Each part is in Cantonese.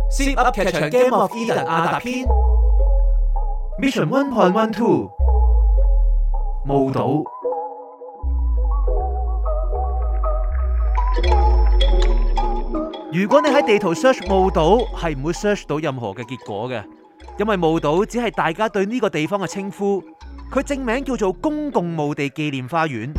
Zip 噏劇場 Game of Eden 亞達篇 Mission 1.12 墓島。如果你喺地圖 search 墓島，係唔會 search 到任何嘅結果嘅，因為墓島只係大家對呢個地方嘅稱呼，佢正名叫做公共墓地紀念花園。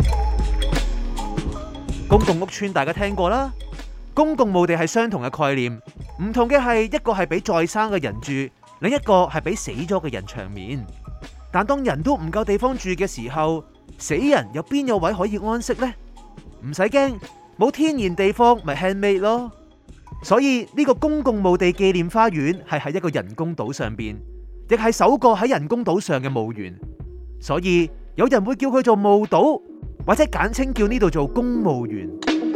公共屋邨大家聽過啦，公共墓地係相同嘅概念，唔同嘅係一個係俾在生嘅人住，另一個係俾死咗嘅人長眠。但當人都唔夠地方住嘅時候，死人又邊有位可以安息呢？唔使驚，冇天然地方咪 handmade 咯。所以呢個公共墓地紀念花園係喺一個人工島上邊，亦係首個喺人工島上嘅墓園。所以有人會叫佢做墓島，或者簡稱叫呢度做公墓園。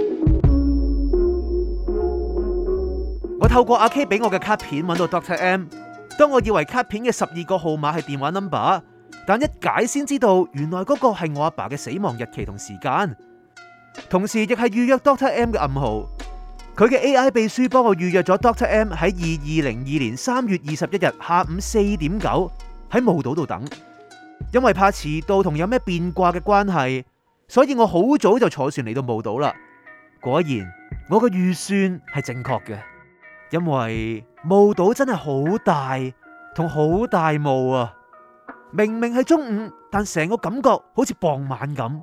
我透過阿 K 俾我嘅卡片揾到 Dr. M。當我以為卡片嘅12個號碼係電話 number， 但一解先知道原來嗰個係我阿爸嘅死亡日期同時間，同時亦係預約 Dr. M 嘅暗號。佢嘅 AI 秘書幫我預約咗 Dr. M 喺2202年3月21日下午4點9喺墓島度等。因為怕遲到同有咩變卦嘅關係，所以我好早就坐船嚟到墓島啦。果然我嘅預算係正確嘅，因為墓島真係好大同好大霧啊！明明係中午，但成個感覺好似傍晚咁。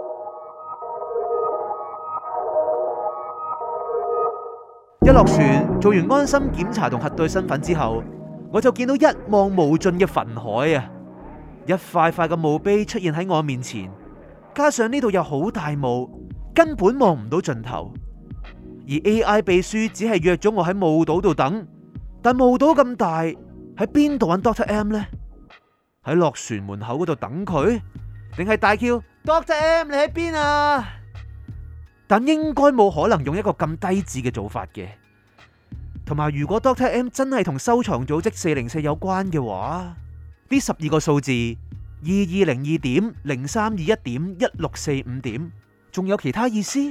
一落船做完安心檢查同核對身份之後，我就見到一望無盡嘅墳海啊！一塊塊嘅墓碑出現喺我面前，加上呢度有好大霧，根本望唔到盡頭。而 AI 秘書只係約咗我喺墓島度等，但墓島咁大，喺邊度揾 Dr. M 呢？喺落船門口嗰度等佢，定係大叫 Dr. M 你喺邊啊？但應該冇可能用一個咁低智嘅做法嘅。同埋如果 Dr. M 真係同收藏組織404有關嘅話，呢12個數字2202.0321.1645仲有其他意思？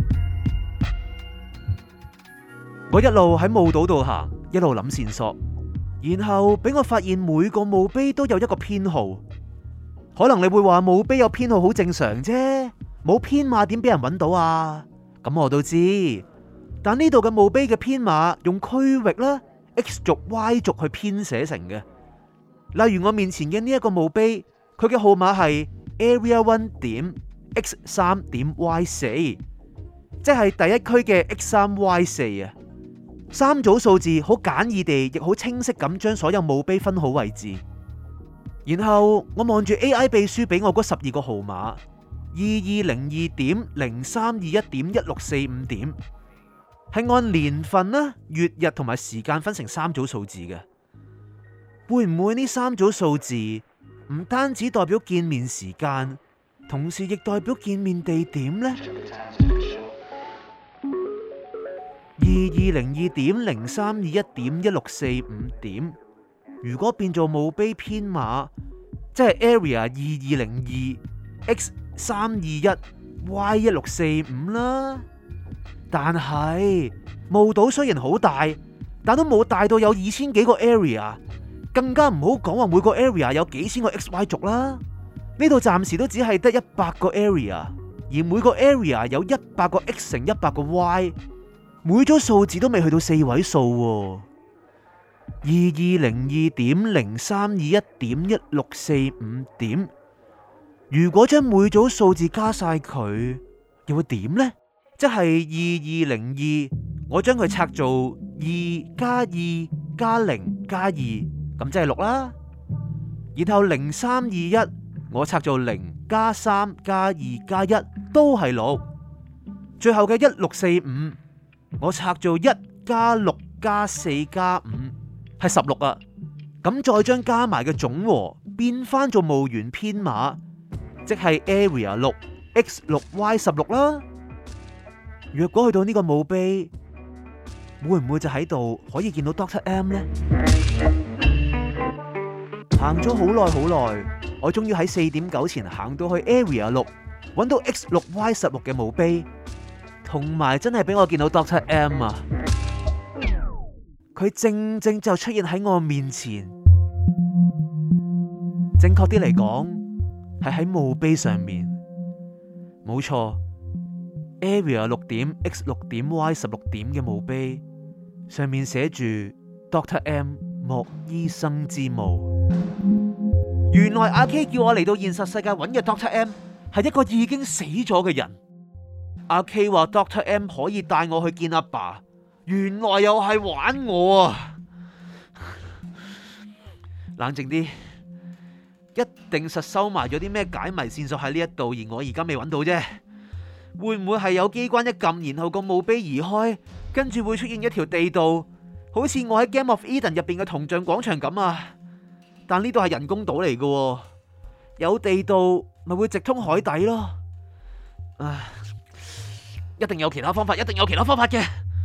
我一路喺墓島度行，一路諗線索，然後俾我發現每個墓碑都有一個編號。可能你會話墓碑有編號好正常啫，冇編碼點俾人揾到啊？咁我都知，但呢度嘅墓碑嘅編碼用區域啦 X 軸 Y 軸去編寫成嘅。例如我面前嘅呢一個墓碑，佢嘅號碼係 Area 1.X3.Y4， 即係第一區嘅 X3Y4 啊。三組數字好簡易地，亦好清晰咁將所有墓碑分好位置。然後我望住 AI 秘書俾我嗰12個號碼2202.0321.1645，係按年份啦、月日同埋時間分成三組數字嘅。會唔會呢三組數字唔單止代表見面時間，同時亦代表見面地點呢？2202.0321.1645，如果變做墓碑編碼，即係 Area 2202X321Y1645 啦。但係墓島雖然好大，但都冇大到有2000幾個 area， 更加唔好講話每個 area 有幾千個 XY 軸啦。呢度暫時都只係得100個 area， 而每個 area 有100個 X 乘100個 Y， 每組數字都未去到4位數。2202.0321.1645，如果將每組數字加晒佢，又會點呢？即係2202，我將佢拆做2加2加0加2，咁即係6啦。然後0321，我拆做0加3加2加1，都係6。最後嘅1645，我拆做1加6加4加5，係16啊。咁再將加埋嘅總和變翻做墓園編碼，即係 Area 6 X6 Y16 啦。若果去到呢個墓碑，會唔會就喺度可以見到 Dr. M 呢？行咗好耐，我終於喺4點9前行到去 Area 6，揾到 X6 Y16 嘅墓碑，同埋真係俾我見到 Dr. M 啊！ 佢正正就出現喺我面前。正確啲嚟講，係喺墓碑上面。冇錯 ，Area 6.X6.Y16 嘅墓碑上面寫住 Dr. M 莫醫生之墓。原來阿 K 叫我嚟到現實世界揾嘅 Dr. M 係一個已經死咗嘅人。阿 K 話 Dr. M 可以帶我去見阿爸，原來又係玩我啊！冷靜啲，一定實收埋咗啲咩解謎線索喺呢一度，而我而家未揾到啫。會唔會係有機關一撳，然後個墓碑移開，跟住會出現一條地道，好似我喺 Game of Eden 入邊嘅銅像廣場咁啊？但呢度係人工島嚟嘅，有地道咪會直通海底咯。一定有其他方法，一定有其他方法嘅。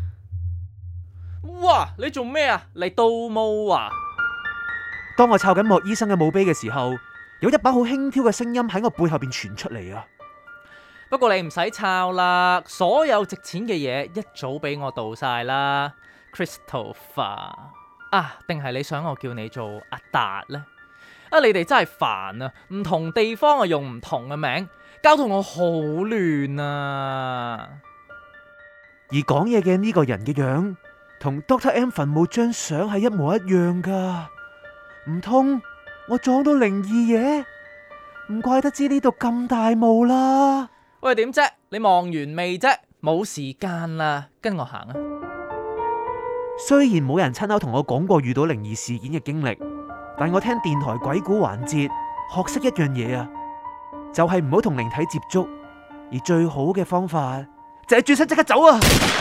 哇！你做咩啊？嚟盜墓啊？ 當我抄緊莫醫生嘅墓碑嘅時候，有一把好輕佻嘅聲音喺我背後邊傳出嚟啊！ 不過你唔使抄啦，所有值錢嘅嘢一早俾我盜晒啦 ，Christopher 啊？定係你想我叫你做阿達呢？你哋真係煩啊！唔同地方啊用唔同嘅名，搞到我好亂啊！ 而講嘢嘅呢個人嘅樣，同 Dr. M 墳墓張相係一模一樣噶。唔通我撞到靈異嘢？唔怪得知呢度咁大霧啦。 喂，點啫？你望完未啫？冇時間啦，跟我行啊！ 雖然冇人親口同我講過遇到靈異事件嘅經歷，但我聽電台鬼故環節學識一樣嘢啊，就係唔好同靈體接觸，而最好嘅方法就係轉身即刻走啊！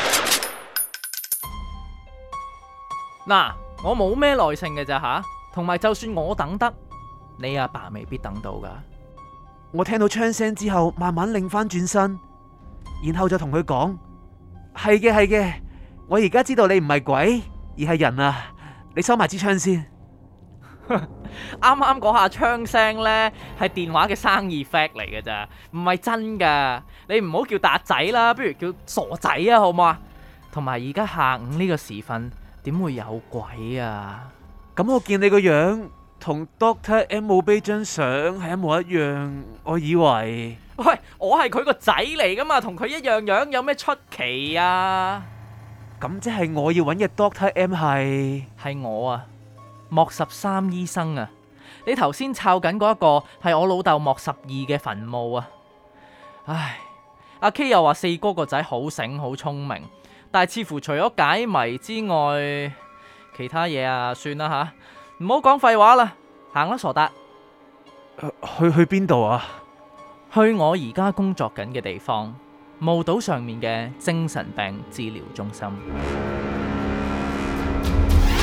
嗱，我冇咩耐性嘅咋吓，同埋就算我等得，你阿爸未必等到噶。 我聽到槍聲之後，慢慢擰翻轉身，然後就同佢講：係嘅，係嘅，我而家知道你唔係鬼，而係人啊！你收埋支槍先。 啱啱嗰下槍聲呢，係電話嘅生意 fact 嚟嘅咋，唔係真噶。你唔好叫達仔啦，不如叫傻仔啊，好唔好啊？同埋而家下午呢個時分，點會有鬼啊？ 咁我見你個樣同 Dr. M 墓碑張相係一模一樣，我以為。 喂，我係佢個仔嚟噶嘛，同佢一樣樣，有咩出奇啊？ 咁即係我要揾嘅 Dr. M 係我啊，莫13醫生啊！你頭先抄緊嗰一個係我老豆莫12嘅墳墓啊！唉，阿 K 又話四哥個仔好醒好聰明，但係似乎除咗解謎之外，其他嘢啊，算啦吓，唔好講廢話啦，行啦傻達。 去邊度啊？ 去我而家工作緊嘅地方，墓島上面嘅精神病治療中心。